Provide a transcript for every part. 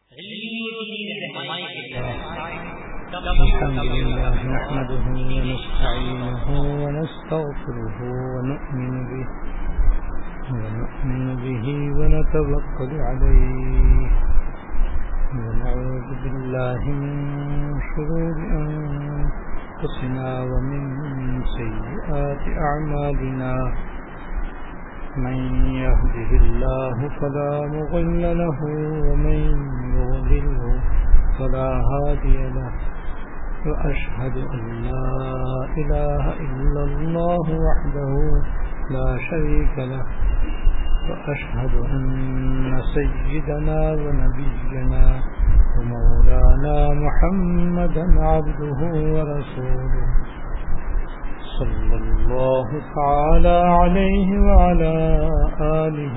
الحمد لله نحمده ونستعينه ونستغفره ونؤمن به ونتوكل عليه ونعوذ بالله من شرور أنفسنا ومن سيئات أعمالنا من يهده الله فلا مضل له ومن يضلل فلا هادي له وأشهد أن لا إله إلا الله وحده لا شريك له وأشهد أن سيدنا ونبينا ومولانا محمدا عبده ورسوله صلى الله تعالى عليه وعلى آله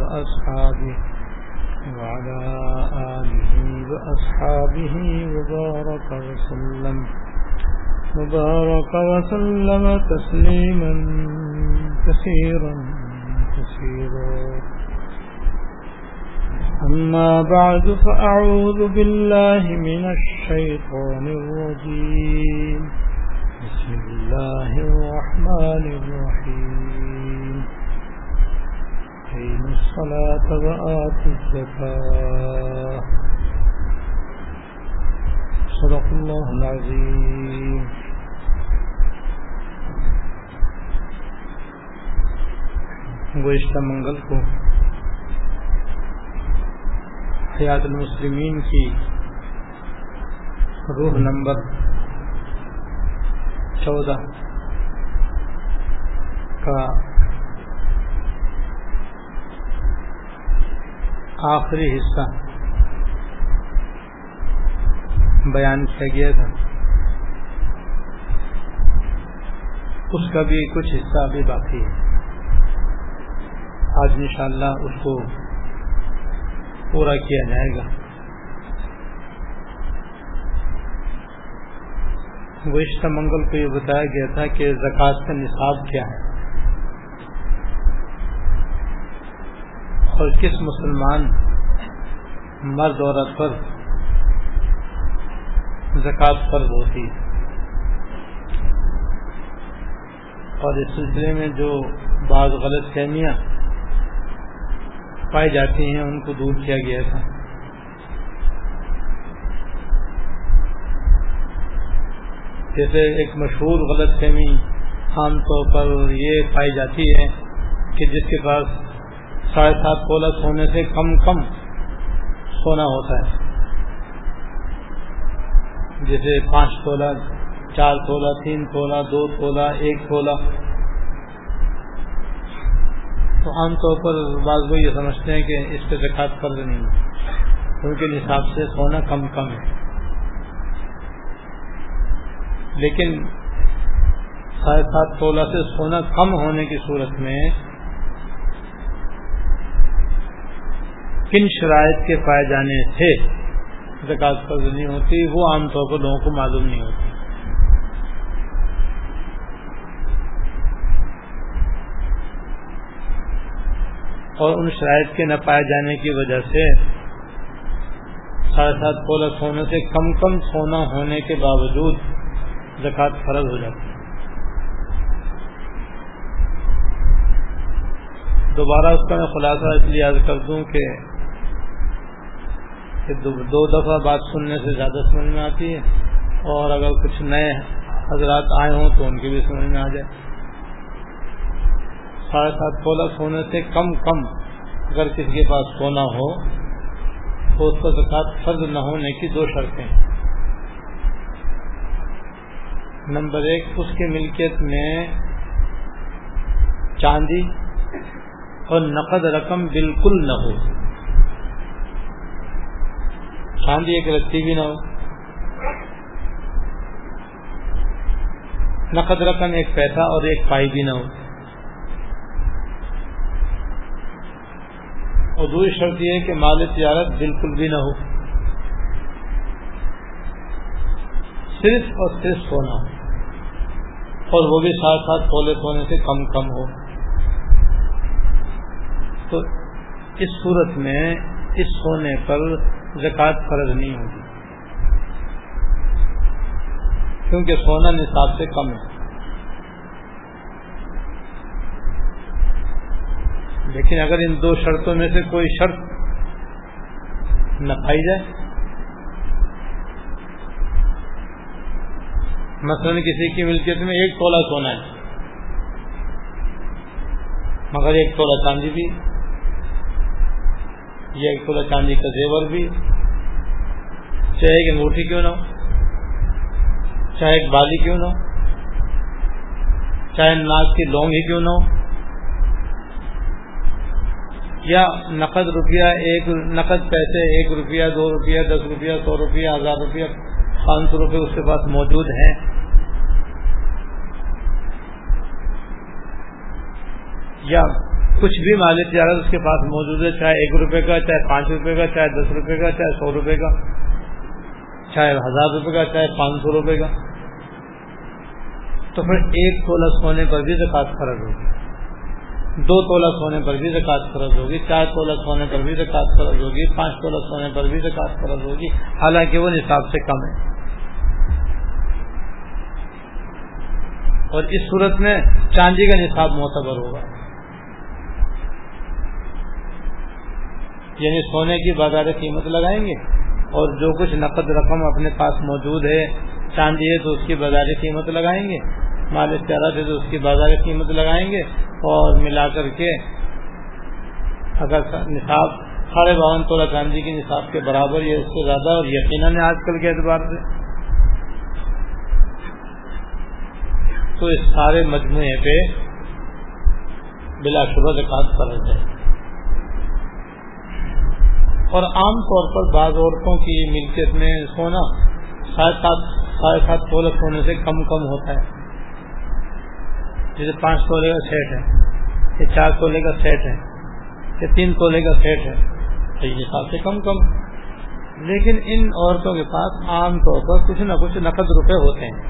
وأصحابه وبارك وسلم تسليما كثيرا أما بعد فأعوذ بالله من الشيطان الرجيم بسم الله الرحمن الرحيم أقيموا الصلاة وآتوا الزكاة صدق الله العظيم. گزشتہ منگل کو حیات المسلمین کی روح نمبر 14 کا آخری حصہ بیان کیا گیا تھا. اس کا بھی کچھ حصہ ابھی باقی ہے. آج انشاءاللہ اس کو پورا کیا جائے گا. گزشتہ منگل کو یہ بتایا گیا تھا کہ زکوٰۃ کا نصاب کیا ہے اور کس مسلمان مرد عورت پر زکوٰۃ فرض ہوتی ہے، اور اس سلسلے میں جو بعض غلط فہمیاں پائی جاتی ہیں ان کو دور کیا گیا تھا. جیسے ایک مشہور غلط فہمی عام طور پر یہ پائی جاتی ہے کہ جس کے پاس 7.5 تولہ سونے سے کم سونا ہوتا ہے، جیسے 5 تولہ 4 تولہ 3 تولہ 2 تولہ 1 تولہ، تو عام طور پر بعض لوگ یہ سمجھتے ہیں کہ اس پہ زکوٰۃ فرض نہیں ہے کیونکہ نصاب سے سونا کم ہے. لیکن 7.5 تولہ سے سونا کم ہونے کی صورت میں کن شرائط کے پائے جانے سے زکوٰۃ فرض نہیں ہوتی، وہ عام طور پر لوگوں کو معلوم نہیں ہوتی. اور ان شرائط کے نہ پائے جانے کی وجہ سے 7.5 تولہ سونے سے کم سونا ہونے کے باوجود زکوٰۃ فرض ہو جاتی ہے. دوبارہ اس کا میں خلاصہ اس لیے عرض کر دوں کہ 2 دفعہ بات سننے سے زیادہ سمجھ میں آتی ہے، اور اگر کچھ نئے حضرات آئے ہوں تو ان کی بھی سمجھ میں آ جائے. 7.5 تولہ سونے سے کم اگر کسی کے پاس سونا ہو تو اس پر زکوٰۃ فرض نہ ہونے کی 2 شرطیں. نمبر 1، اس کی ملکیت میں چاندی اور نقد رقم بالکل نہ ہو. چاندی ایک رتی بھی نہ ہو، نقد رقم 1 پیسہ اور 1 پائی بھی نہ ہو. اور دوسری شرط یہ ہے کہ مال تجارت بالکل بھی نہ ہو، صرف اور صرف سونا ہو، اور وہ بھی 7.5 تولے سونے سے کم ہو. تو اس صورت میں اس سونے پر زکوٰۃ فرض نہیں ہوگی، کیونکہ سونا نصاب سے کم ہے۔ لیکن اگر ان دو شرطوں میں سے کوئی شرط نہ پائی جائے، مثلا کسی کی ملکیت میں 1 تولہ سونا ہے مگر 1 تولہ چاندی بھی، یا 1 تولہ چاندی کا زیور بھی، چاہے ایک انگوٹھی کیوں نہ ہو، چاہے ایک بالی کیوں نہ ہو، چاہے ناک کی لونگ ہی کیوں نہ ہو، یا نقد روپیہ، نقد پیسے 1 روپیہ 2 روپیہ 10 روپیہ 100 روپیہ 1000 روپیہ 500 روپے اس کے پاس موجود ہیں، یا کچھ بھی مال تجارت اس کے پاس موجود ہے، چاہے 1 روپے کا، چاہے 5 روپے کا، چاہے 10 روپے کا، چاہے 100 روپے کا، چاہے 1000 روپے کا، چاہے 500 روپے کا، تو پھر 1 تولہ سونے پر بھی زکوٰۃ فرض ہوگی، 2 تولہ سونے پر بھی زکوٰۃ فرض ہوگی، 4 تولہ سونے پر بھی زکوٰۃ فرض ہوگی، 5 تولہ سونے پر بھی زکوٰۃ فرض ہوگی، حالانکہ وہ نصاب سے کم ہے۔ اور اس صورت میں چاندی کا نصاب معتبر ہوگا، یعنی سونے کی بازار قیمت لگائیں گے، اور جو کچھ نقد رقم اپنے پاس موجود ہے، چاندی ہے تو اس کی بازار قیمت لگائیں گے، مال تجارت ہے تو اس کی بازار قیمت لگائیں گے، اور ملا کر کے اگر نصاب 52.5 تولہ چاندی کے نصاب کے برابر یا اس سے زیادہ، اور یقیناً آج کل کے اعتبار سے، تو اس سارے مجموعے پہ بلا شبہ زکوٰۃ فرض ہے۔ اور عام طور پر بعض عورتوں کی ملکیت میں سونا 7.5 تولہ سونے سے کم ہوتا ہے، جیسے 5 تولے کا سیٹ ہے، یا 4 تولے کا سیٹ ہے، یا 3 تولے کا سیٹ ہے، تو یہ نصاب سے کم، لیکن ان عورتوں کے پاس عام طور پر کچھ نہ کچھ نقد روپے ہوتے ہیں،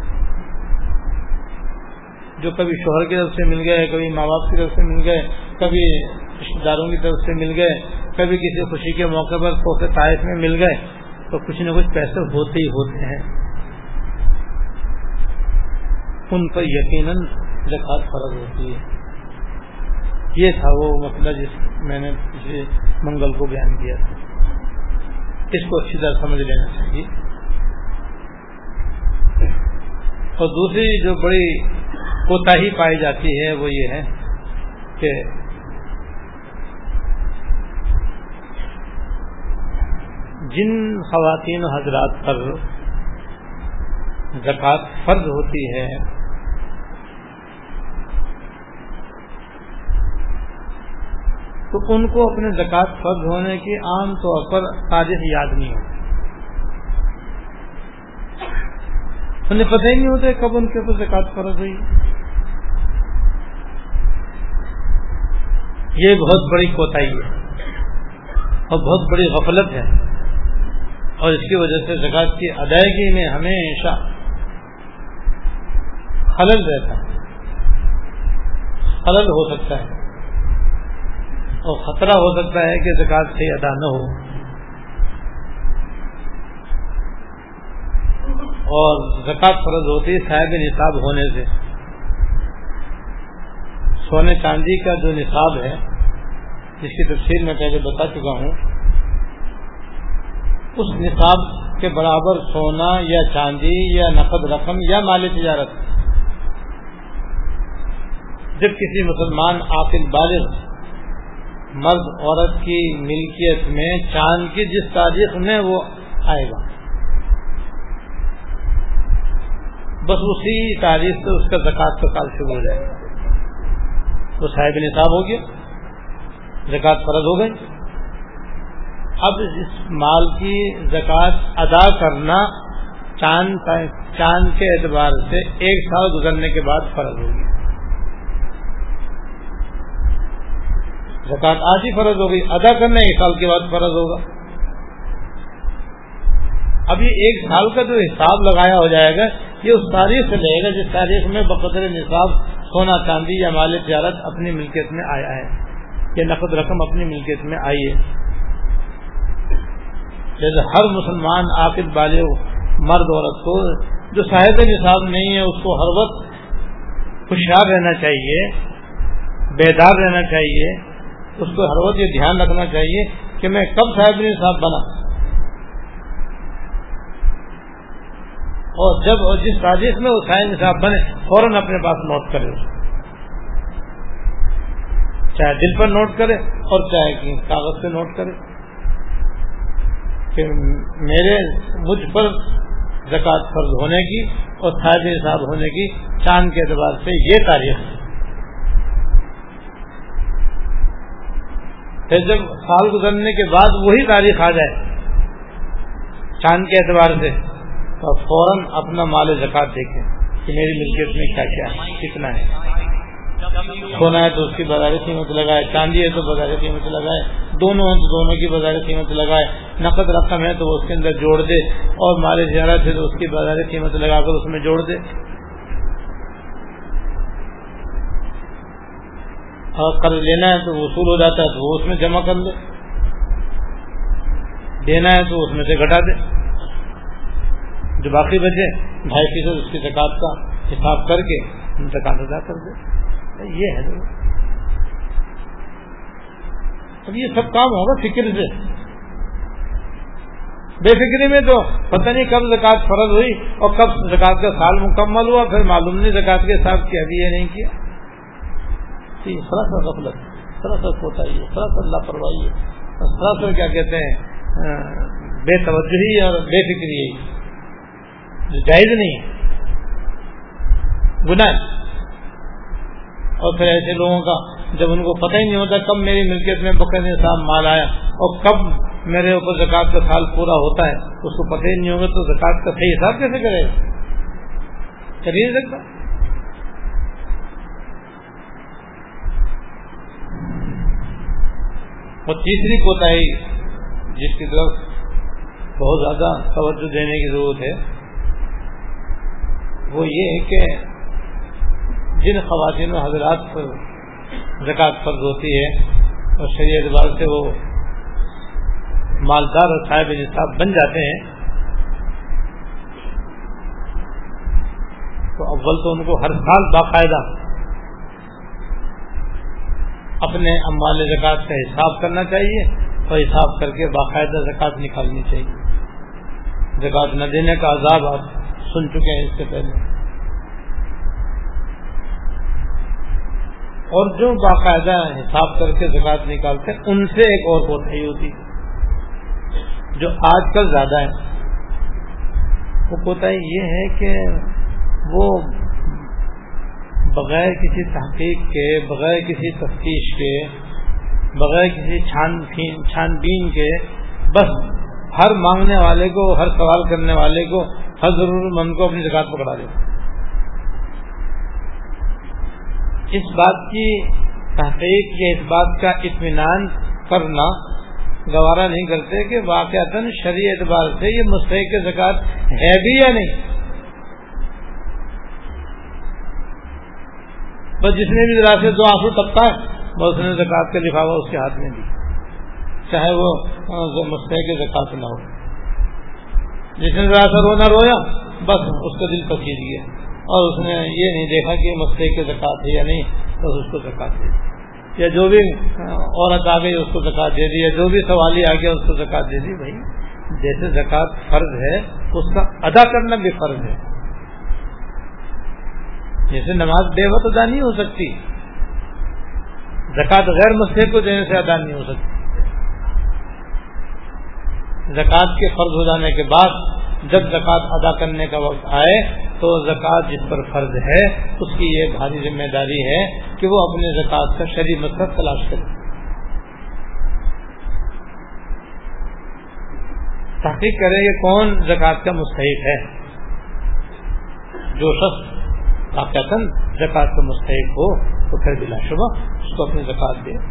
جو کبھی شوہر کی طرف سے مل گئے، کبھی ماں باپ کی طرف سے مل گئے، کبھی رشتے داروں کی طرف سے مل گئے، کبھی کسی خوشی کے موقع پر تحفے طائف میں مل گئے، تو کچھ نہ کچھ پیسے ہوتے ہی ہوتے ہیں، ان پر یقیناً زکوٰۃ فرض ہوتی ہے۔ یہ تھا وہ مسئلہ جس میں نے پچھلے منگل کو بیان کیا تھا، اس کو اچھی طرح سمجھ لینا چاہیے۔ اور دوسری جو بڑی کوتاہی پائی جاتی ہے وہ یہ ہے کہ جن خواتین و حضرات پر زکوٰۃ فرض ہوتی ہے تو ان کو اپنے زکوٰۃ فرض ہونے کی عام طور پر تاریخ یاد نہیں ہوتی، انہیں پتہ ہی نہیں ہوتا کب ان کے اوپر زکوٰۃ فرض ہوئی۔ یہ بہت بڑی کوتاہی ہے اور بہت بڑی غفلت ہے، اور اس کی وجہ سے زکوٰۃ کی ادائیگی میں ہمیشہ خلل رہتا ہے، خلل ہو سکتا ہے، اور خطرہ ہو سکتا ہے کہ زکوٰۃ صحیح ادا نہ ہو، اور زکوٰۃ فرض ہوتی ہے صاحب نصاب ہونے سے۔ سونے چاندی کا جو نصاب ہے، جس کی تفصیل میں پہلے بتا چکا ہوں، اس نصاب کے برابر سونا یا چاندی یا نقد رقم یا مال تجارت جب کسی مسلمان عاقل بالغ مرد عورت کی ملکیت میں چاند کی جس تاریخ میں وہ آئے گا، بس اسی تاریخ سے اس کا زکوٰۃ کا کال شروع ہو جائے گا، وہ صاحب نصاب ہو گیا، زکوٰۃ فرض ہو گئی۔ اب اس مال کی زکوٰۃ ادا کرنا چاند کے اعتبار سے 1 سال گزرنے کے بعد فرض ہوگی، زکوٰۃ آج ہی فرض ہو گئی، ادا کرنا 1 سال کے بعد فرض ہوگا۔ اب یہ 1 سال کا جو حساب لگایا ہو جائے گا، یہ اس تاریخ سے لگے گا جس تاریخ میں بقدر نصاب سونا چاندی یا مال تجارت اپنی ملکیت میں آیا ہے، یا نقد رقم اپنی ملکیت میں آئی ہے۔ جیسے ہر مسلمان عاقل بالغ مرد عورت کو جو صاحب نصاب نہیں ہے اس کو ہر وقت ہوشیار رہنا چاہیے، بیدار رہنا چاہیے، اس کو ہر وقت یہ دھیان رکھنا چاہیے کہ میں کب صاحب نصاب بنا، اور جب جس تاریخ میں وہ صاحب نصاب بنے فوراً اپنے پاس نوٹ کرے، چاہے دل پر نوٹ کرے اور چاہے کاغذ پہ نوٹ کرے کہ مجھ پر زکوٰۃ فرض ہونے کی اور صاحب نصاب ہونے کی چاند کے اعتبار سے یہ تاریخ ہے۔ پھر جب سال گزرنے کے بعد وہی تاریخ آ جائے چاند کے اعتبار سے تو فوراً اپنا مال زکوٰۃ دیکھیں کہ میری ملکیت میں کیا کیا ہے، کتنا ہے۔ سونا ہے تو اس کی بازار قیمت لگائے، چاندی ہے تو بازار قیمت لگائے، دونوں ہیں تو دونوں کی بازار قیمت لگائے، نقد رقم ہے تو وہ اس کے اندر جوڑ دے، اور مال زیارت ہے تو اس کی بازار قیمت لگا کر اس میں جوڑ دے، اور قرض لینا ہے تو وصول ہو جاتا ہے تو وہ اس میں جمع کر لے، دینا ہے تو اس میں سے گھٹا دے، جو باقی بچے 2.5% اس کی زکوٰۃ کا حساب کر کے زکوٰۃ ادا کر دے۔ یہ ہے اب یہ سب کام ہوگا فکر سے، بے فکری میں تو پتہ نہیں کب زکوٰۃ فرض ہوئی اور کب زکوٰۃ کا سال مکمل ہوا، پھر معلوم نہیں زکوٰۃ کے حساب کیا بھی یہ نہیں کیا۔ سراسر غفلت، سراسر کوتاہی ہے، سراسر لاپرواہی ہے، سراسر کیا کہتے ہیں بے توجہی اور بے فکری ہے، جو جائز نہیں ہے، گناہ۔ اور پھر ایسے لوگوں کا جب ان کو پتہ ہی نہیں ہوتا کب میری ملکیت میں بقر نصاب مال آیا اور کب میرے اوپر زکوٰۃ کا سال پورا ہوتا ہے، اس کو پتہ ہی نہیں ہوگا تو زکوٰۃ کا صحیح حساب کیسے کرے گا؟ کر ہی نہیں سکتا۔ اور تیسری کوتاہی جس کی طرف بہت زیادہ توجہ دینے کی ضرورت ہے وہ یہ ہے کہ جن خواتین و حضرات پر زکوٰۃ فرض ہوتی ہے اور شرعی اعتبار سے وہ مالدار اور صاحب نصاب بن جاتے ہیں تو اول تو ان کو ہر سال باقاعدہ اپنے اموال زکوٰۃ کا حساب کرنا چاہیے اور حساب کر کے باقاعدہ زکوٰۃ نکالنی چاہیے۔ زکوٰۃ نہ دینے کا عذاب آپ سن چکے ہیں اس سے پہلے۔ اور جو باقاعدہ حساب کر کے زکوٰۃ نکالتے ہیں ان سے ایک اور کوتاہی ہوتی جو آج کل زیادہ ہے، وہ کوتاہی یہ ہے کہ وہ بغیر کسی تحقیق کے، بغیر کسی تفتیش کے، بغیر کسی چھان بین کے بس ہر مانگنے والے کو، ہر سوال کرنے والے کو، ہر ضرورت مند کو اپنی زکوٰۃ پکڑا دیتے۔ اس بات کی تحقیق یا اس بات کا اطمینان کرنا گوارا نہیں کرتے کہ واقعتاً شرعی اعتبار سے یہ مستحق زکوٰۃ ہے بھی یا نہیں۔ بس جس نے بھی ذرا سے دو آنسو ٹپکا ہے بس اس نے زکوٰۃ کا لفافہ اس کے ہاتھ میں دی، چاہے وہ مستحق زکوٰۃ نہ ہو۔ جس نے ذرا سا رونا رویا بس اس کا دل پسیج گیا اور اس نے یہ نہیں دیکھا کہ مستحق زکوٰۃ ہے یا نہیں، بس اس کو زکوٰۃ دے دی، یا جو بھی عورت آ گئی اس کو زکوٰۃ دے دی، یا جو بھی سوالی آ گیا اس کو زکوٰۃ دے دی۔ بھائی جیسے زکوٰۃ فرض ہے اس کا ادا کرنا بھی فرض ہے، جیسے نماز بے وقت ادا نہیں ہو سکتی، زکوٰۃ غیر مستحق کو دینے سے ادا نہیں ہو سکتی۔ زکوٰۃ کے فرض ہو جانے کے بعد جب زکوٰۃ ادا کرنے کا وقت آئے تو زکوٰۃ جس پر فرض ہے اس کی یہ بھاری ذمہ داری ہے کہ وہ اپنے زکوٰۃ کا شرعی مقصد تلاش کرے، تحقیق کرے کہ کون زکوٰۃ کا مستحق ہے۔ جو شخص واقعتاً زکوٰۃ کا مستحق ہو تو پھر بلا شبہ اس کو اپنی زکوٰۃ دے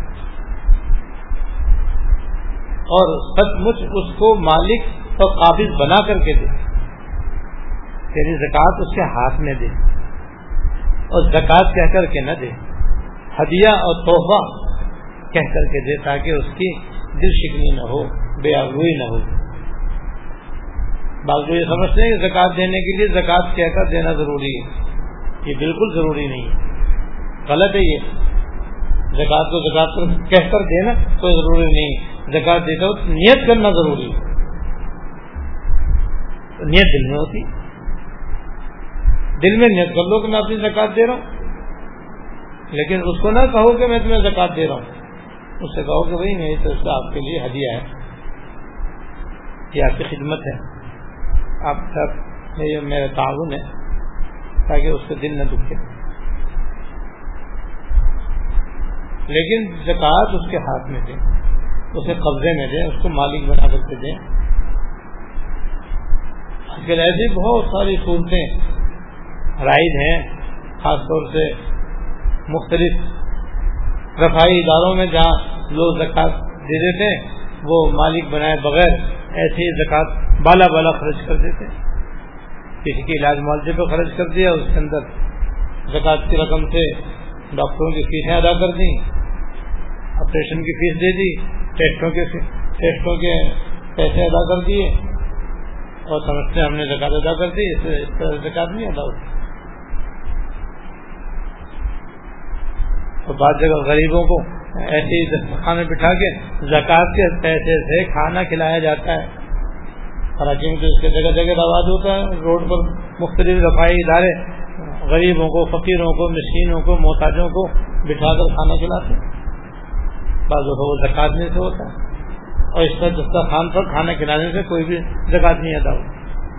اور سچ مچ اس کو مالک اور قابض بنا کر کے دے، تیری زکوٰۃ اس کے ہاتھ میں دے اور زکوٰۃ کہہ کر کے نہ دے، ہدیہ اور تحفہ کہہ کر کے دے تاکہ اس کی دل شکنی نہ ہو، بے آبروئی نہ ہو۔ بعض لوگ یہ سمجھتے ہیں کہ زکوٰۃ دینے کے لیے زکوٰۃ کہہ کر دینا ضروری ہے. یہ بالکل ضروری نہیں ہے، غلط ہے. یہ زکوٰۃ کو زکوٰۃ کہہ کر دینا کوئی ضروری نہیں. زکوٰۃ دیتے وقت نیت کرنا ضروری ہے. نیت دل میں ہوتی، دل میں نیت کر لو کہ میں اپنی زکوٰۃ دے رہا ہوں، لیکن اس کو نہ کہو کہ میں تمہیں زکوٰۃ دے رہا ہوں. اس سے کہو کہ بھائی میری طرف سے آپ کے لیے ہدیہ ہے، یہ آپ کی خدمت ہے، آپ ساتھ میرا تعاون ہے، تاکہ اس سے دل نہ دکھے. لیکن زکوٰۃ اس کے ہاتھ میں دیں، اسے قبضے میں دیں، اس کو مالک بنا کر کے دیں. آج کل ایسی بہت ساری صورتیں رائج ہیں، خاص طور سے مختلف رفائی اداروں میں جہاں لوگ زکوٰۃ دے دیتے ہیں، وہ مالک بنائے بغیر ایسے ہی زکوٰۃ بالا بالا خرچ کر دیتے ہیں. کسی کے علاج معالجے پہ خرچ کر دیا، اس کے اندر زکوٰۃ کی رقم سے ڈاکٹروں کی فیسیں ادا کر دیں، آپریشن کی فیس دے دی، ٹیسٹوں کے پیسے ادا کر دیے، اور سمجھتے ہیں ہم نے زکوٰۃ ادا کر دی. اس طرح زکوٰۃ نہیں ادا ہوتی. تو بعض جگہ غریبوں کو ایسے ہی دسترخوان میں بٹھا کے زکوٰۃ کے پیسے سے کھانا کھلایا جاتا ہے. کراچی میں اس کے جگہ جگہ رواج ہوتا ہے، روڈ پر مختلف رفائی ادارے غریبوں کو، فقیروں کو، مسکینوں کو، محتاجوں کو بٹھا کر کھانا کھلاتے ہیں. بعض دفعہ وہ زکوٰۃ میں سے ہوتا ہے، اور اس طرح دسترخوان پر کھانا کھلانے سے کوئی بھی زکوٰۃ نہیں ادا ہوتی.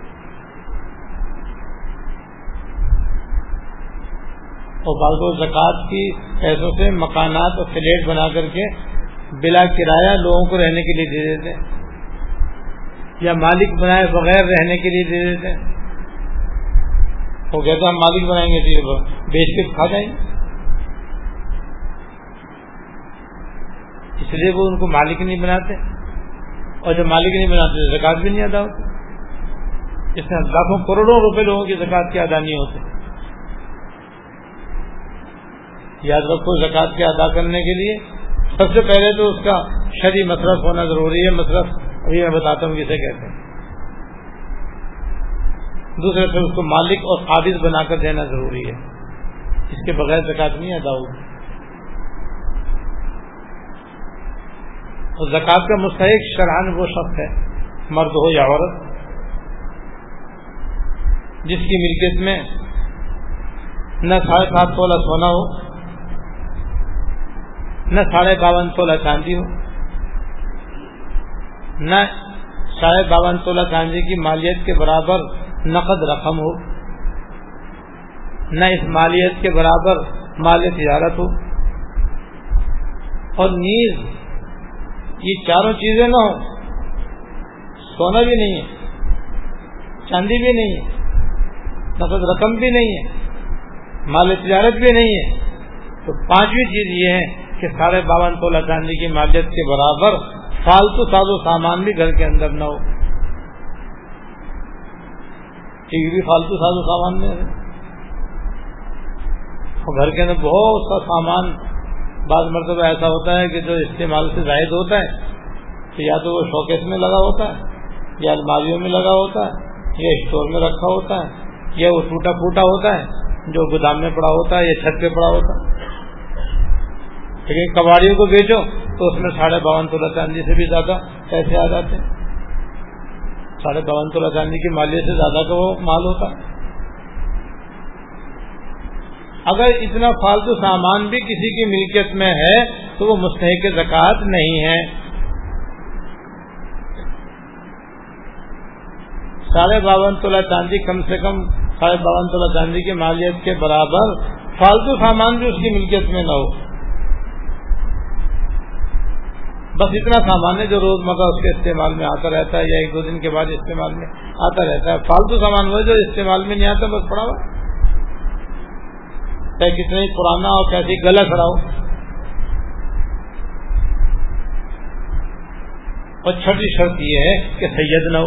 اور بعض لوگ زکوٰۃ کی پیسوں سے مکانات اور فلیٹ بنا کر کے بلا کرایہ لوگوں کو رہنے کے لیے دے دیتے ہیں، یا مالک بنائے بغیر رہنے کے لیے دے دیتے ہیں. وہ کہتے ہیں ہم مالک بنائیں گے تو بیچ کے کھا جائیں گے، اس لیے وہ ان کو مالک نہیں بناتے. اور جب مالک نہیں بناتے تو زکوٰۃ بھی نہیں ادا ہوتی. اس میں لاکھوں کروڑوں روپے لوگوں کی زکوٰۃ کے ادا نہیں ہوتے. یاد رکھو، زکوٰۃ کے ادا کرنے کے لیے سب سے پہلے تو اس کا شرعی مصرف ہونا ضروری ہے. مصرف ابھی میں بتاتا ہوں کسے کہتے ہیں. دوسرے پھر اس کو مالک اور قابض بنا کر دینا ضروری ہے. اس کے بغیر زکوٰۃ نہیں ادا ہوگی. اور زکوٰۃ کا مستحق شرعاً وہ شخص ہے، مرد ہو یا عورت، جس کی ملکیت میں نہ 7.5 تولہ سونا ہو، نہ 52.5 تولہ چاندی ہو، نہ 52.5 تولہ چاندی کی مالیت کے برابر نقد رقم ہو، نہ اس مالیت کے برابر مال تجارت ہو، اور نیز یہ چاروں چیزیں نہ ہو. سونا بھی نہیں ہے، چاندی بھی نہیں ہے، نقد رقم بھی نہیں ہے، مال تجارت بھی نہیں ہے. تو پانچویں چیز یہ ہے کہ 52.5 تولہ چاندی کی مالیت کے برابر فالتو ساز و سامان بھی گھر کے اندر نہ ہو. ٹی وی بھی فالتو ساز و سامان میں ہے. اور گھر کے اندر بہت سا سامان بعض مرتبہ ایسا ہوتا ہے کہ جو استعمال سے زائد ہوتا ہے، تو یا تو وہ شوکیس میں لگا ہوتا ہے، یا الماریوں میں لگا ہوتا ہے، یا اسٹور میں رکھا ہوتا ہے، یا وہ ٹوٹا پھوٹا ہوتا ہے جو گودام میں پڑا ہوتا ہے یا چھت پہ پڑا ہوتا ہے. لیکن کباڑیوں کو بیچو تو اس میں 52.5 تولہ چاندی سے بھی زیادہ پیسے آ جاتے ہیں. 52.5 تولہ چاندی کی مالیت سے زیادہ کا وہ مال ہوتا ہے. اگر اتنا فالتو سامان بھی کسی کی ملکیت میں ہے تو وہ مستحق زکوٰۃ نہیں ہے. 52.5 تولہ چاندی کم سے کم 52.5 تولہ چاندی کی مالیت کے برابر فالتو سامان بھی اس کی ملکیت میں نہ ہو. بس اتنا سامان ہے جو روزمرہ اس کے استعمال میں آتا رہتا ہے، یا 1-2 دن کے بعد استعمال میں آتا رہتا ہے. فالتو سامان وہ جو استعمال میں نہیں آتا، بس پڑا ہوا، چاہے کتنا ہی پرانا اور کیسی گلا کھڑا ہو. اور چھٹی شرط یہ ہے کہ سید نہ ہو.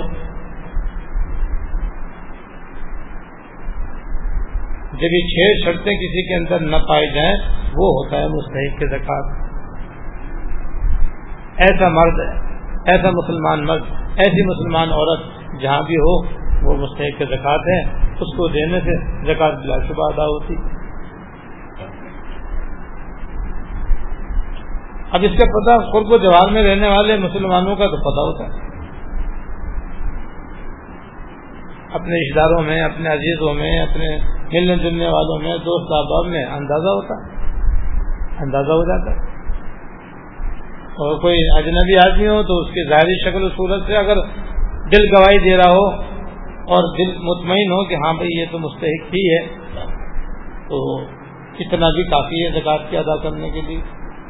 جب یہ 6 شرطیں کسی کے اندر نہ پائی جائیں وہ ہوتا ہے مستحق کی زکوٰۃ. ایسا مرد، ایسا مسلمان مرد، ایسی مسلمان عورت جہاں بھی ہو وہ مستحق زکوٰۃ ہے، اس کو دینے سے زکوٰۃ بلا شبہ ادا ہوتی۔ اب اس کا پتہ قرب و جوار میں رہنے والے مسلمانوں کا تو پتہ ہوتا ہے، اپنے رشتہ داروں میں، اپنے عزیزوں میں، اپنے ملنے جلنے والوں میں، دوست احباب میں اندازہ ہوتا ہے، اندازہ ہو جاتا ہے۔ اور کوئی اجنبی آدمی ہو تو اس کی ظاہری شکل و صورت سے اگر دل گواہی دے رہا ہو اور دل مطمئن ہو کہ ہاں بھائی یہ تو مستحق ہی ہے، تو اتنا بھی کافی ہے زکوٰۃ کی ادا کرنے کے لیے۔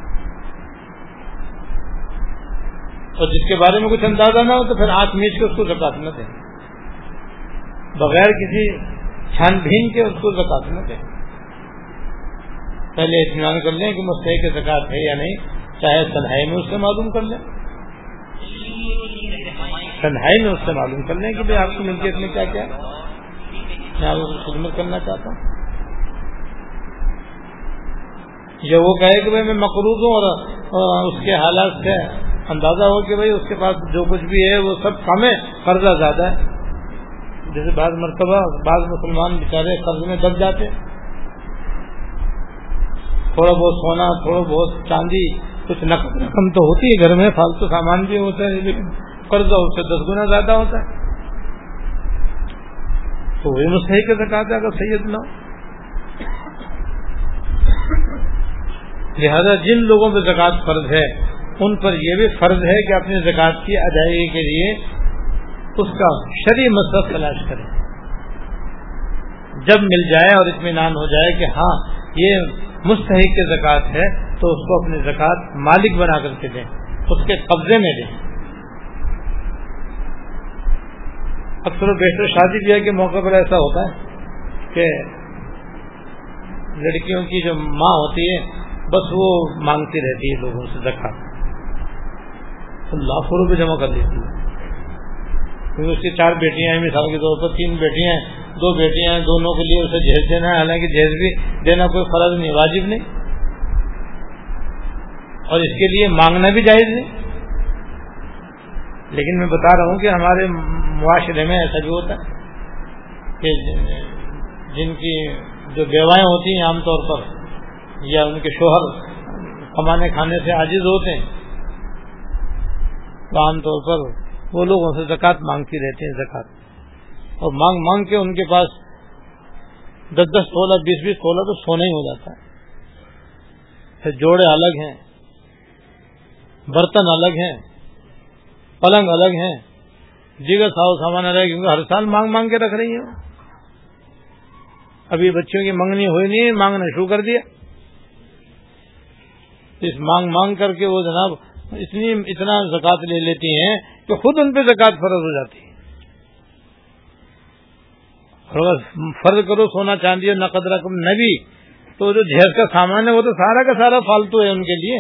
اور جس کے بارے میں کچھ اندازہ نہ ہو تو پھر آنکھ میچ کے اس کو زکوٰۃ نہ دیں، بغیر کسی چھان بھین کے اس کو زکوٰۃ نہ دیں۔ پہلے اطمینان کر لیں کہ مستحق زکوٰۃ ہے یا نہیں، چاہے تنہائی میں اس سے معلوم کر لیں، تنہائی میں اس سے معلوم کر لیں کہ بھائی آپ کی ملکیت میں کیا کیا ہے، میں آپ کو خدمت کرنا چاہتا ہوں۔ یا وہ کہے کہ بھائی میں مقروض ہوں اور اس کے حالات سے اندازہ ہو کہ بھائی اس کے پاس جو کچھ بھی ہے وہ سب کم ہے، قرضہ زیادہ ہے۔ جیسے بعض مرتبہ بعض مسلمان بیچارے قرض میں دب جاتے، تھوڑا بہت سونا، تھوڑا بہت چاندی، کچھ نقد رقم تو ہوتی ہے گھر میں، فالتو سامان بھی ہوتا ہے، لیکن قرضہ اس سے 10 گنا زیادہ ہوتا ہے، تو وہی مستحق زکوٰۃ ہے اگر سید نہ ہو۔ لہذا جن لوگوں پہ زکوٰۃ فرض ہے ان پر یہ بھی فرض ہے کہ اپنی زکوٰۃ کی ادائیگی کے لیے اس کا شرعی مصدر تلاش کریں۔ جب مل جائے اور اطمینان ہو جائے کہ ہاں یہ مستحق کی زکوٰۃ ہے تو اس کو اپنی زکوٰۃ مالک بنا کر کے دیں، اس کے قبضے میں دیں۔ اکثر و بیشتر شادی بیاہ کے موقع پر ایسا ہوتا ہے کہ لڑکیوں کی جو ماں ہوتی ہے بس وہ مانگتی رہتی ہے لوگوں سے زکوٰۃ، لاکھوں روپے جمع کر دیتی ہے، کیونکہ اس کی 4 بیٹیاں ہیں، مثال کے طور پر 3 بیٹیاں ہیں، 2 بیٹیاں ہیں، دونوں کے لیے اسے جہیز دینا ہے، حالانکہ جہیز بھی دینا کوئی فرض نہیں، واجب نہیں، اور اس کے لیے مانگنا بھی جائز نہیں۔ لیکن میں بتا رہا ہوں کہ ہمارے معاشرے میں ایسا بھی ہوتا ہے کہ جن کی جو بیوائیں ہوتی ہیں عام طور پر یا ان کے شوہر کمانے کھانے سے عاجز ہوتے ہیں تو عام طور پر وہ لوگوں سے زکوٰۃ مانگتی رہتے ہیں، زکوٰۃ، اور مانگ مانگ کے ان کے پاس 10-10 تولہ 20-20 تولہ تو سونا ہی ہو جاتا ہے۔ پھر جوڑے الگ ہیں، برتن الگ ہیں، پلنگ الگ ہیں، دیگر سامان الگ ہے، کیونکہ ہر سال مانگ مانگ کے رکھ رہی ہیں۔ ابھی بچوں کی منگنی ہوئی نہیں، مانگنا شروع کر دیا، اس مانگ مانگ کر کے وہ جناب اتنا زکوٰۃ لے لیتی ہیں کہ خود ان پہ زکوٰۃ فرض ہو جاتی ہے۔ اور اگر فرض کرو سونا چاندی اور نقد رقم نہ بھی تو جو جہیز کا سامان ہے وہ تو سارا کا سارا فالتو ہے ان کے لیے،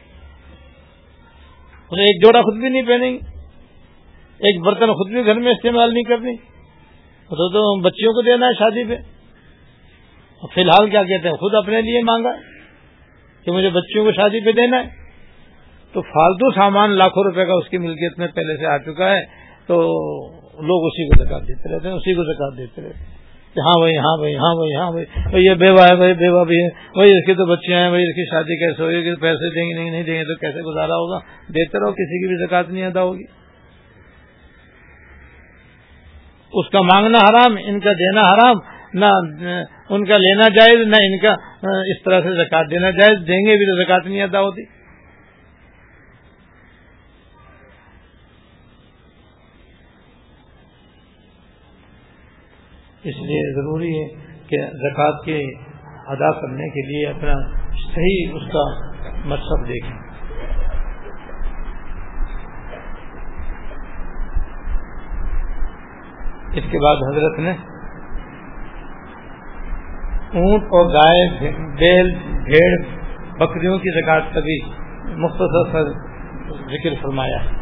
انہیں ایک جوڑا خود بھی نہیں پہنیں گے، ایک برتن خود بھی گھر میں استعمال نہیں کرنی، تو بچیوں کو دینا ہے شادی پہ۔ فی الحال کیا کہتے ہیں، خود اپنے لیے مانگا کہ مجھے بچیوں کو شادی پہ دینا ہے، تو فالتو سامان لاکھوں روپے کا اس کی ملکیت میں پہلے سے آ چکا ہے، تو لوگ اسی کو زکوٰۃ دیتے رہتے ہیں، اسی کو زکوٰۃ دیتے رہتے ہیں کہ ہاں بھائی ہاں بھائی ہاں بھائی ہاں بھائی یہ بیوہ ہے، بھائی بیوہ بھی ہے، بھائی اس کی تو بچیاں ہیں، بھائی اس کی شادی کیسے ہوگی، کہ پیسے دیں گے نہیں دیں گے تو کیسے گزارا ہوگا، دیتے رہو، کسی کی بھی زکوٰۃ نہیں ادا ہوگی۔ اس کا مانگنا حرام، ان کا دینا حرام، نہ ان کا لینا جائز، نہ ان کا اس طرح سے زکوٰۃ دینا جائز، دیں گے بھی تو زکوٰۃ نہیں ادا ہوتی۔ اس لیے ضروری ہے کہ زکوٰۃ کے ادا کرنے کے لیے اپنا صحیح اس کا مقصد دیکھیں۔ اس کے بعد حضرت نے اونٹ اور گائے، بیل، بھیڑ، بکریوں کی زکوٰۃ کا بھی مختصر سا ذکر فرمایا ہے۔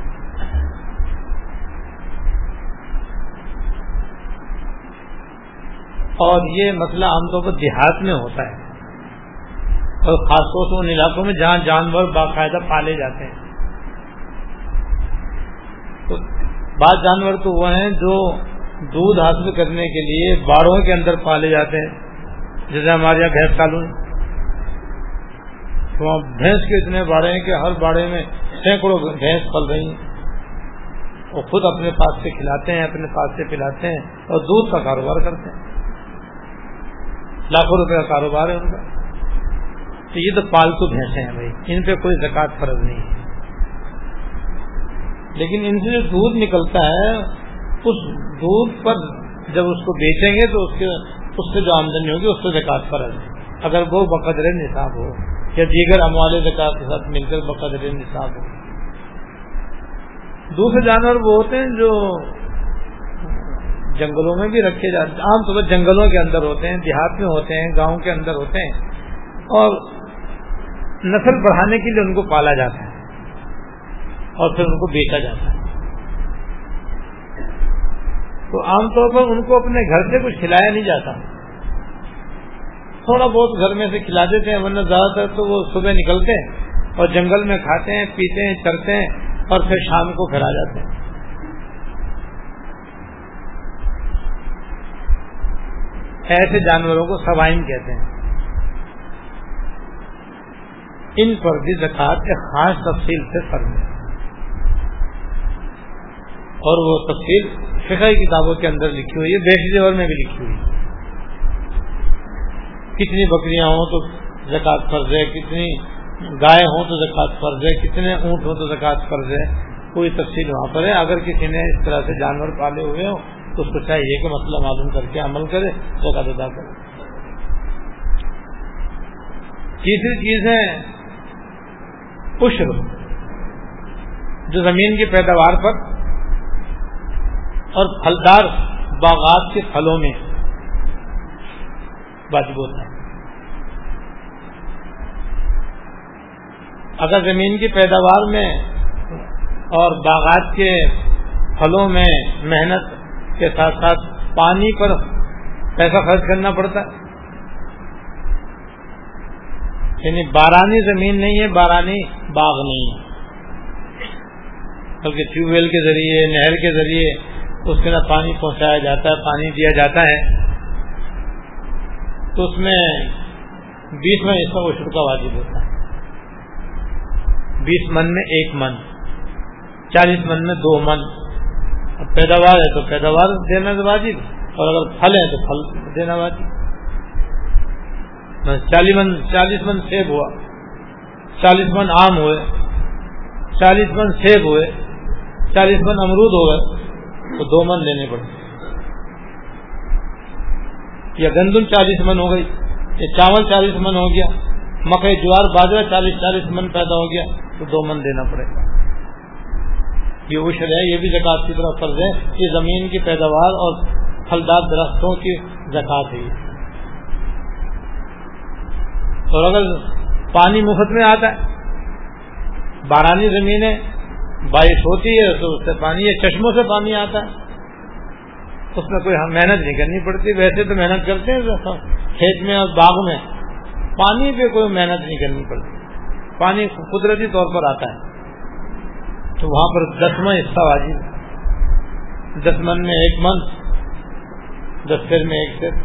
اور یہ مسئلہ عام طور پر دیہات میں ہوتا ہے، اور خاص طور سے ان علاقوں میں جہاں جانور باقاعدہ پالے جاتے ہیں، تو بعض جانور تو وہ ہیں جو دودھ حاصل کرنے کے لیے باڑوں کے اندر پالے جاتے ہیں، جیسے ہمارے یہاں بھینس پالون، تو وہاں بھینس کے اتنے باڑے ہیں کہ ہر باڑے میں سینکڑوں بھینس پل رہی ہیں، وہ خود اپنے پاس سے کھلاتے ہیں، اپنے پاس سے پلاتے ہیں اور دودھ کا کاروبار کرتے ہیں، لاکھوں روپے کا کاروبار ہے ان کا. تو یہ تو پالتو بھینسیں ہیں بھائی، ان پہ کوئی زکوٰۃ فرض نہیں ہے. لیکن ان سے جو دودھ نکلتا ہے اس دودھ پر جب اس کو بیچیں گے تو اس سے جو آمدنی ہوگی اس سے زکوٰۃ فرض ہے، اگر وہ بقدر نصاب ہو یا دیگر اموال زکوٰۃ کے ساتھ مل کر بقدر نصاب ہو. دوسرے جانور وہ ہوتے ہیں جو جنگلوں میں بھی رکھے جاتے ہیں، عام طور پر جنگلوں کے اندر ہوتے ہیں، دیہات میں ہوتے ہیں، گاؤں کے اندر ہوتے ہیں، اور نسل بڑھانے کے لیے ان کو پالا جاتا ہے اور پھر ان کو بیچا جاتا ہے. تو عام طور پر ان کو اپنے گھر سے کچھ کھلایا نہیں جاتا، تھوڑا بہت گھر میں سے کھلا دیتے ہیں، ورنہ زیادہ تر تو وہ صبح نکلتے ہیں اور جنگل میں کھاتے ہیں، پیتے ہیں، چرتے ہیں اور پھر شام کو پھر آ جاتے ہیں. ایسے جانوروں کو سوائن کہتے ہیں. ان پر بھی زکوٰۃ ایک خاص تفصیل سے فرض ہے، اور وہ تفصیل فقہ کتابوں کے اندر لکھی ہوئی ہے، بیشی زیور میں بھی لکھی ہوئی ہے. کتنی بکریاں ہوں تو زکوٰۃ فرض ہے، کتنی گائے ہوں تو زکوٰۃ فرض ہے، کتنے اونٹ ہوں تو زکوٰۃ فرض ہے، کوئی تفصیل وہاں پر ہے. اگر کسی نے اس طرح سے جانور پالے ہوئے ہوں تو اس کو چاہیے کہ مسئلہ معلوم کر کے عمل کرے، زکوٰۃ ادا کرے. تیسری چیز ہے عشر، جو زمین کی پیداوار پر اور پھلدار باغات کے پھلوں میں واجب ہوتا ہے. اگر زمین کی پیداوار میں اور باغات کے پھلوں میں محنت کے ساتھ ساتھ پانی پر پیسہ خرچ کرنا پڑتا ہے، یعنی بارانی زمین نہیں ہے، بارانی باغ نہیں ہے، بلکہ ٹیوب ویل کے ذریعے، نہر کے ذریعے اس کے اندر پانی پہنچایا جاتا ہے، پانی دیا جاتا ہے، تو اس میں 20 حصہ عشر کا واجب ہوتا ہے. 20 من میں 1 من، 40 من میں 2 من. اب پیداوار ہے تو پیداوار دینا واجب، اور اگر پھل ہے تو پھل دینا واجب. 40 من سیب ہوا، 40 من آم ہوئے، 40 من سیب ہوئے، 40 من امرود ہو گئے تو 2 من لینے پڑتے. یا گندم 40 من ہو گئی، یا چاول 40 من ہو گیا، مکئی جوار باجرہ 40 من پیدا ہو گیا تو 2 من دینا پڑے گا. یہ عشر ہے، یہ بھی زکوٰۃ کی طرف فرض ہے. یہ زمین کی پیداوار اور پھلدار درختوں کی زکوٰۃ ہے. اور اگر پانی مفت میں آتا ہے، بارانی زمین ہے، بارش ہوتی ہے تو اس سے پانی، یہ چشموں سے پانی آتا ہے، اس میں کوئی محنت نہیں کرنی پڑتی. ویسے تو محنت کرتے ہیں کھیت میں اور باغ میں، پانی پہ کوئی محنت نہیں کرنی پڑتی، پانی قدرتی طور پر آتا ہے. تو وہاں پر 10واں حصہ واجب، 10 من میں 1 من، 10 سیر میں 1 سیر.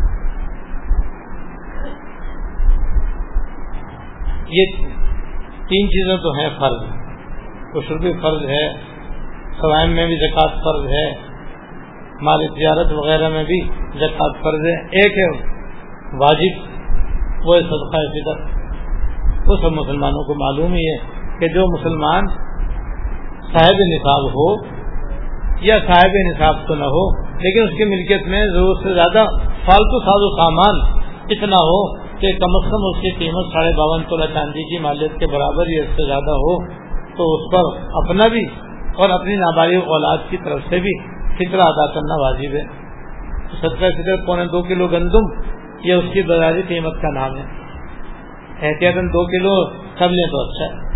یہ 3 چیزیں تو ہیں فرض. عشر بھی فرض ہے، سوائم میں بھی زکوٰۃ فرض ہے، مال تجارت وغیرہ میں بھی زکوٰۃ فرض ہے. ایک ہے واجب، وہ ہے صدقہ فطر. وہ سب مسلمانوں کو معلوم ہی ہے کہ جو مسلمان صاحب نصاب ہو یا صاحب نصاب تو نہ ہو، لیکن اس کی ملکیت میں ضرورت سے زیادہ فالتو ساز و سامان اتنا ہو کہ کم از کم اس کی قیمت 52.5 تولہ چاندی کی مالیت کے برابر یا اس سے زیادہ ہو، تو اس پر اپنا بھی اور اپنی نابالغ اولاد کی طرف سے بھی فطرہ ادا کرنا واجب ہے. صدقہ فطر 2.25 کلو گندم یہ اس کی بازاری قیمت کا نام ہے. احتیاطاً 2 کلو سب لیں تو اچھا ہے.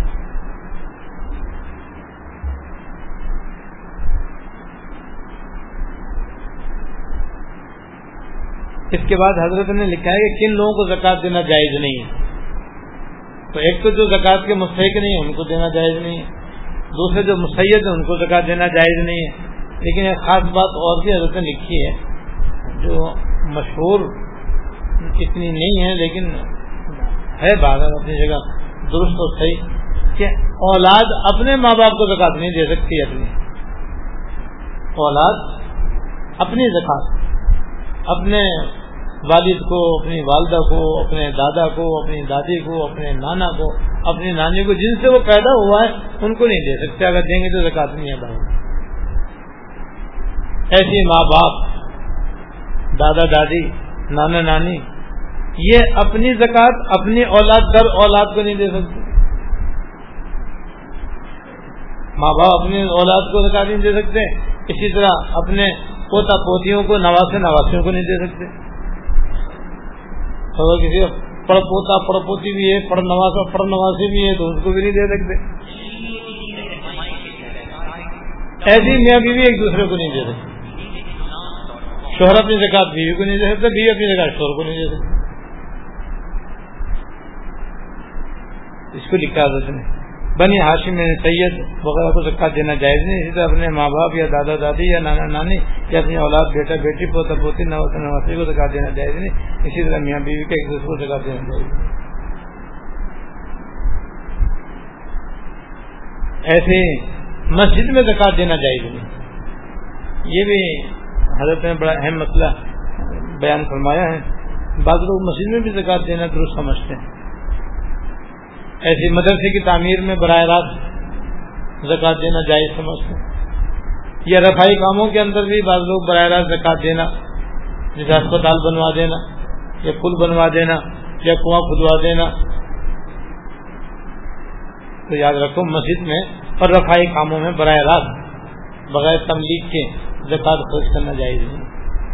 اس کے بعد حضرت نے لکھا ہے کہ کن لوگوں کو زکوٰۃ دینا جائز نہیں ہے. تو ایک تو جو زکوٰۃ کے مستحق نہیں ان کو دینا جائز نہیں ہے، دوسرے جو مسید ہیں ان کو زکات دینا جائز نہیں ہے. لیکن ایک خاص بات اور بھی حضرت نے لکھی ہے جو مشہور اتنی نہیں ہے لیکن ہے بات اپنی جگہ درست اور صحیح کہ اولاد اپنے ماں باپ کو زکات نہیں دے سکتی. اپنی اولاد اپنی زکات اپنے والد کو، اپنی والدہ کو، اپنے دادا کو، اپنی دادی کو، اپنے نانا کو، اپنی نانی کو، جن سے وہ پیدا ہوا ہے ان کو نہیں دے سکتے. اگر دیں گے تو زکات نہیں ادا ہوگی. ایسے ماں باپ، دادا دادی، نانا نانی یہ اپنی زکات اپنی اولاد در اولاد کو نہیں دے سکتے. ماں باپ اپنی اولاد کو زکات نہیں دے سکتے. اسی طرح اپنے پوتا پوتیوں کو، نواسے نواسیوں کو نہیں دے سکتے. اگر کسی پڑ پوتا پڑ پوتی بھی ہے، پڑ نواسا پڑ نواسی بھی ہے تو اس کو بھی نہیں دے سکتے. ایسی میاں بیوی ایک دوسرے کو نہیں دے سکتے. شوہر اپنی زکات بیوی کو نہیں دے سکتے، بیوی اپنی زکات شوہر کو نہیں دے سکتے. اس کو لکھا حضرت نے بنی ہاشم میں سید وغیرہ کو زکات دینا جائز نہیں. اسی طرح اپنے ماں باپ یا دادا دادی یا نانا نانی یا اپنی اولاد بیٹا بیٹی پوتا پوتی نواسا نواسی کو زکات دینا جائز نہیں. اسی طرح میاں بیوی کے ایک دوسرے کو زکات دینا جائز نہیں. ایسے مسجد میں زکات دینا جائز نہیں. یہ بھی حضرت نے بڑا اہم مسئلہ بیان فرمایا ہے. بعض لوگ مسجد میں بھی زکات دینا درست سمجھتے ہیں. ایسی مدرسے کی تعمیر میں براہ راست زکات دینا جائز سمجھتے ہیں. یا رفائی کاموں کے اندر بھی بعض لوگ براہ راست زکات دینا، جیسے ہسپتال بنوا دینا یا پل بنوا دینا یا کنواں کھدوا دینا. تو یاد رکھو مسجد میں اور رفائی کاموں میں براہ راست بغیر تملیغ کے زکات خرچ کرنا جائز نہیں.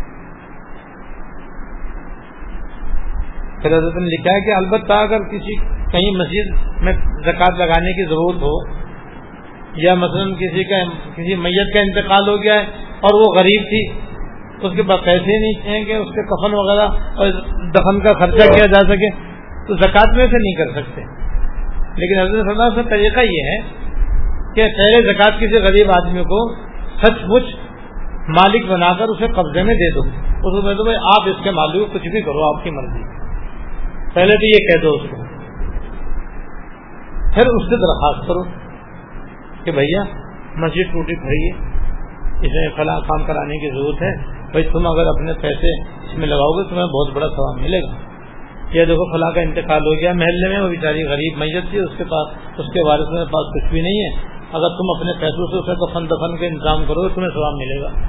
پھر حضرت نے لکھا ہے کہ البتہ اگر کہیں مسجد میں زکات لگانے کی ضرورت ہو، یا مثلا کسی میت کا انتقال ہو گیا ہے اور وہ غریب تھی، اس کے پاس پیسے نہیں ہیں کہ اس کے کفن وغیرہ اور دفن کا خرچہ کیا جا سکے، تو زکات میں سے نہیں کر سکتے. لیکن حضرت صلی اللہ علیہ وسلم کا طریقہ یہ ہے کہ پہلے زکات کسی غریب آدمی کو سچ مچ مالک بنا کر اسے قبضے میں دے دو. اس کو کہہ دو بھائی آپ اس کے مالک کو کچھ بھی کرو، آپ کی مرضی. پہلے تو یہ کہہ دو اس کو، پھر اس سے درخواست کرو کہ بھیا مسجد ٹوٹی پڑی ہے، اس میں فلاں کام کرانے کی ضرورت ہے، بھائی تم اگر اپنے پیسے اس میں لگاؤ گے تمہیں بہت بڑا ثواب ملے گا. یہ دیکھو فلاں کا انتقال ہو گیا محلے میں، وہ بیچاری غریب میت تھی، اس کے پاس اس کے وارث کے پاس کچھ بھی نہیں ہے، اگر تم اپنے پیسوں سے اسے کفن دفن کا انتظام کرو گے تمہیں ثواب ملے گا.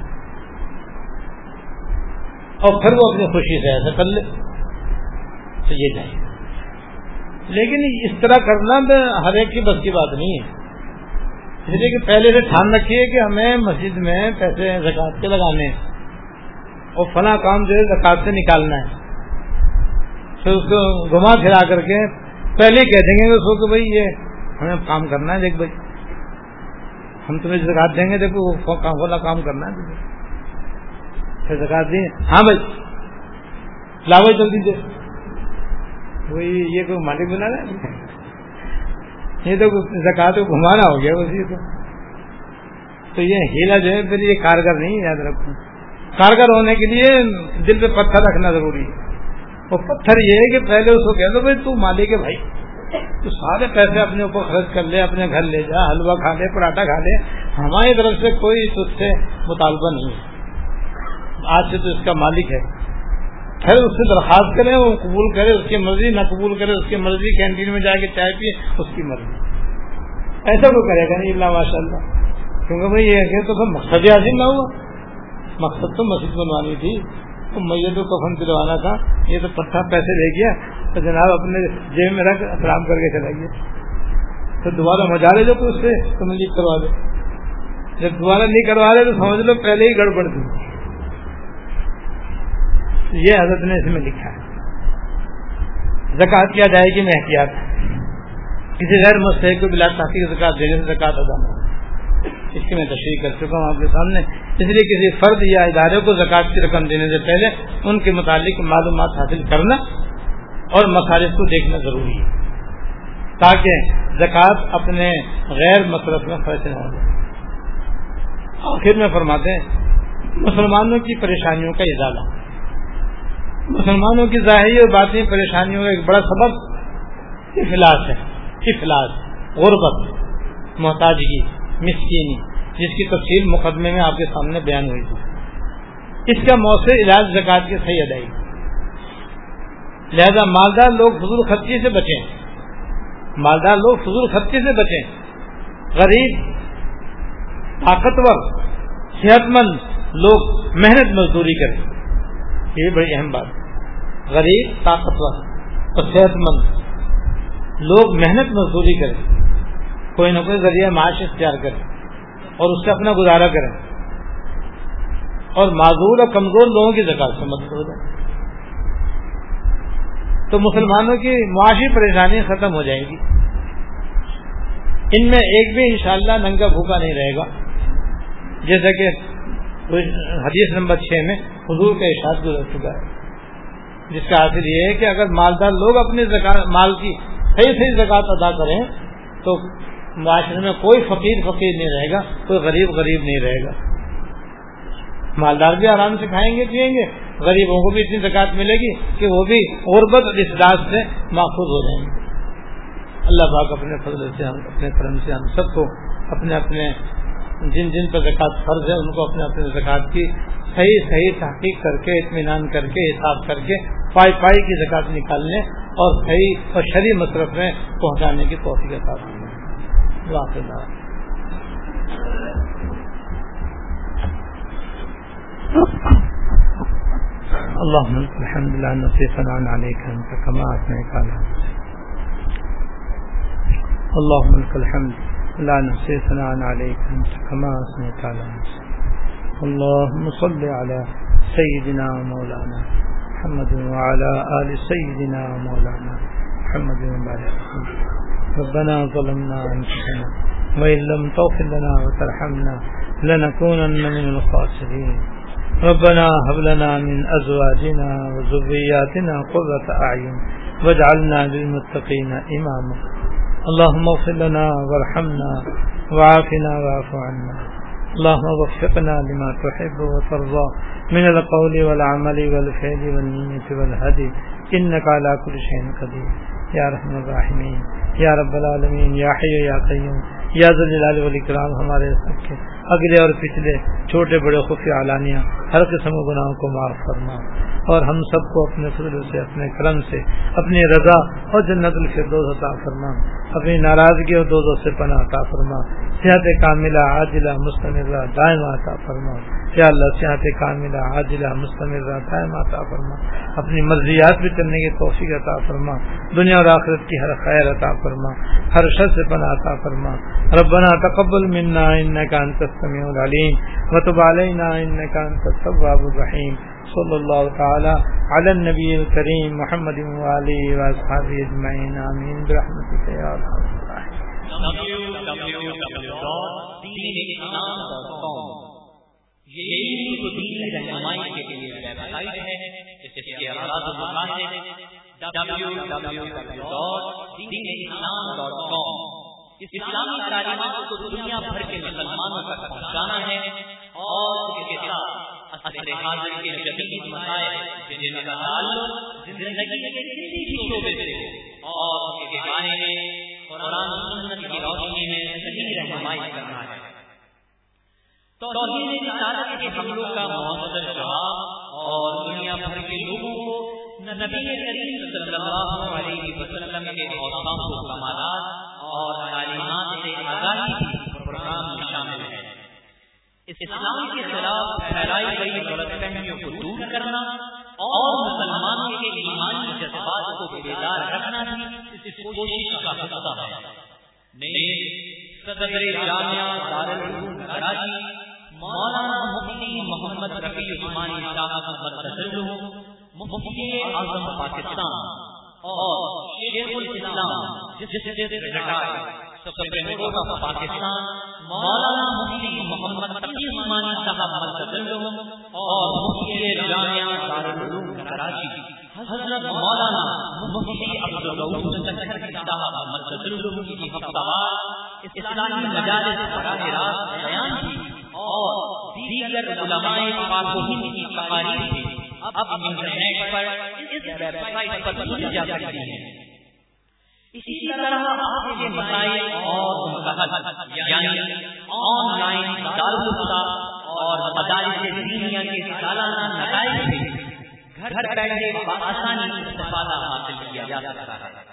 اور پھر وہ اپنی خوشی سے ایسا کر لے تو یہ چاہیے. لیکن اس طرح کرنا ہر ایک کی بس کی بات نہیں ہے. اس لیے کہ پہلے سے ٹھان رکھیے کہ ہمیں مسجد میں پیسے زکات کے لگانے ہیں اور فلاں کام جو ہے زکات سے نکالنا ہے. پھر اس کو گھما پھرا کر کے پہلے کہہ دیں گے اس کو کہ بھائی یہ ہمیں کام کرنا ہے، دیکھ بھائی ہم تمہیں زکات دیں گے، دیکھو وہ فلاں کام کرنا ہے تجھے. پھر زکات دیں، ہاں بھائی لاؤ جلدی دے. وہی یہ کوئی مالک بنا رہا ہے، یہ تو زکات کو گھمانا ہو گیا اسی کو. تو یہ ہیلا جو ہے پھر یہ کارگر نہیں ہے. یاد رکھو کارگر ہونے کے لیے دل پہ پتھر رکھنا ضروری ہے. اور پتھر یہ ہے کہ پہلے اس کو کہہ دو بھائی تو مالک ہے بھائی، تو سارے پیسے اپنے اوپر خرچ کر لے، اپنے گھر لے جا، حلوہ کھا لے، پراٹھا کھا لے، ہماری طرف سے کوئی تجھ سے مطالبہ نہیں ہے، آج سے تو اس کا مالک ہے. پھر اس سے درخواست کرے، وہ قبول کرے اس کی مرضی، نہ قبول کرے اس کی مرضی، کینٹین میں جا کے چائے پیے اس کی مرضی. ایسا کوئی کرے گا نہیں اللہ ماشاء اللہ. کیونکہ بھائی یہ تو مقصد حاصل نہ ہوا. مقصد تو مسجد بنوانی تھی، تو میت کو کفن دلوانا تھا. یہ تو پٹھا پیسے لے گیا تو جناب اپنے جیب میں رکھ احترام کر کے چلا گیا. تو دوبارہ مجا لے جو تو اس سے تملیغ کروا دے. جب دوبارہ نہیں کروا رہے تو سمجھ لو پہلے ہی گڑبڑ تھی. یہ حضرت نے اس میں لکھا ہے. زکات کی ادائیگی میں احتیاط، کسی غیر مستحق کو بلا تحقیق زکات دینے سے زکات ادا نہ ہو. اس کی میں تشریح کر چکا ہوں آپ کے سامنے. اس لیے کسی فرد یا ادارے کو زکات کی رقم دینے سے پہلے ان کے متعلق معلومات حاصل کرنا اور مصارف کو دیکھنا ضروری ہے. تاکہ زکوٰۃ اپنے غیر مصرف میں خرچ نہ ہو جائے۔ آخر میں فرماتے ہیں مسلمانوں کی پریشانیوں کا ازالہ، مسلمانوں کی ظاہری اور باطنی پریشانیوں کا ایک بڑا سبب افلاس ہے، افلاس، غربت، محتاجگی، مسکینی، جس کی تفصیل مقدمے میں آپ کے سامنے بیان ہوئی تھی۔ اس کا مؤثر علاج زکوٰۃ کی صحیح ادائیگی، لہذا مالدار لوگ فضول خرچی سے بچیں، مالدار لوگ فضول خرچی سے بچیں، غریب، طاقتور، صحت مند لوگ محنت مزدوری کریں، یہ بڑی اہم بات ہے۔ غریب، طاقتور اور صحت مند لوگ محنت مزدوری کریں، کوئی نہ کوئی ذریعہ معاش اختیار کریں اور اس سے اپنا گزارا کریں، اور معذور اور کمزور لوگوں کی زکوٰۃ سے مدد ہو جائے تو مسلمانوں کی معاشی پریشانی ختم ہو جائے گی۔ ان میں ایک بھی انشاءاللہ ننگا بھوکا نہیں رہے گا، جیسا کہ حدیث نمبر 6 میں حضور کا ارشاد گزر چکا ہے، جس کا حاصل یہ ہے کہ اگر مالدار لوگ اپنے مال کی صحیح زکوٰۃ ادا کریں تو معاشرے میں کوئی فقیر نہیں رہے گا، کوئی غریب نہیں رہے گا۔ مالدار بھی آرام سے کھائیں گے پیئیں گے، غریبوں کو بھی اتنی زکوٰۃ ملے گی کہ وہ بھی غربت اور افلاس سے محفوظ ہو جائیں گے۔ اللہ پاک اپنے فضل سے اپنے کرم سے ہم سب کو اپنے اپنے جن پر زکوٰۃ فرض ہے ان کو اپنے زکوٰۃ کی صحیح تحقیق کر کے، اطمینان کر کے، حساب کر کے پائی کی زکوٰۃ نکالنے اور صحیح اور شرعی مصرف میں پہنچانے کی توفیق عطا فرمائے۔ واقعہ اللهم لك الحمد لا نحصي ثناء عليك أنت كما أثنيت على نفسك، اللهم لك الحمد لا نحصي ثناء عليك أنت كما أثنيت على نفسك، اللهم صل على سيدنا مولانا محمد وعلى آل سيدنا مولانا محمد وبارك وسلم۔ ربنا ظلمنا أنفسنا وإن لم تغفر لنا وترحمنا لنكونن من الخاسرين، ربنا هب لنا من أزواجنا وذرياتنا قرة أعين واجعلنا للمتقين إماما، اللهم اغفر لنا وارحمنا وعافنا واعف عنا، اللهم وفقنا لما تحب وترضى من القول والعمل والفعل والنية والهدي إنك على كل شيء قدير یا رحم الراحمین، یا رب العالمین، یا حی یا قیوم، یا ذو الجلال والاکرام، ہمارے سب کے اگلے اور پچھلے چھوٹے بڑے خفیہ علانیہ ہر قسم کے گناہوں کو معاف فرما، اور ہم سب کو اپنے فضل سے، اپنے کرم سے، اپنی رضا اور جنت الفردوس عطا فرما، اپنی ناراضگی اور دوزخ سے پناہ عطا فرما، صحت کاملہ عاجلہ مستمرہ دائمہ عطا فرما، یا اللہ صحت کاملہ عاجلہ مستمرہ دائمہ عطا فرما، اپنی مرضیات پہ چلنے کی توفیق عطا فرما، دنیا اور آخرت کی ہر خیر عطا فرما، ہر شر سے پناہ عطا فرما۔ ربنا تقبل منا انك انت السميع العليم وتب علينا انك انت التواب الرحيم، صلی اللہ تعالی علی النبی الکریم محمد وآلہ واصحابہ اجمعین، آمین برحمتک یا ارحم الراحمین۔ www.deenislam.com یہ تو دین رہنمائی کے لیے ویب سائٹ ہے، اس کے اعداد و مقاصد www.deenislam.com اسلامی تعلیمات کو دنیا بھر کے مسلمانوں تک پہنچانا ہے، اور اس کے ساتھ عصر حاضر کے جدید مسائل جن کا تعلق زندگی کے کسی بھی شعبے سے اور اس کے بارے میں قرآن و سنت کی روشنی میں صحیح رہنمائی کرنا ہے۔ توحید رسالت کے حملوں کا مؤثر جواب اور دنیا بھر کے لوگوں کو نبی کریم صلی اللہ علیہ وسلم کے اوصاف و کمالات اور تعلیمات سے آگاہی بھی پروگرام میں شامل ہے۔ اسلام کے خلاف پھیلائی گئی غلط فہمیوں کو دور کرنا اور مسلمانوں کے ایمانی جذبات کو بیدار رکھنا بھی اس کوشش کا حصہ ہے۔ صدر جامعہ دارالعلوم کراچی مولانا مفتی محمد رفیع عثمانی صاحب مدثر مفتی اعظم پاکستان اور شیخ الاسلام justice retired supreme court of Pakistan مولانا مفتی محمد تقی عثمانی صاحب مدثر اور مفتی جامعہ دارالعلوم کراچی حضرت مولانا مفتی عبدالرؤوف سکندری صاحب مدثر کی ہفتہ اسلامی مجالس براہ راست بیان کی اور دیگر علماء پاک و ہند کی تقاریر بھی اب انٹرنیٹ پر اس ویب سائٹ پر سنی جا سکتی ہیں۔ اسی طرح آپ کے مسائل اور مقاصد یعنی آن لائن دارالفتہ اور مدارس دینیہ کے سالانہ نتائج سے گھر بیٹھے بآسانی استفادہ حاصل کیا جا سکتا ہے۔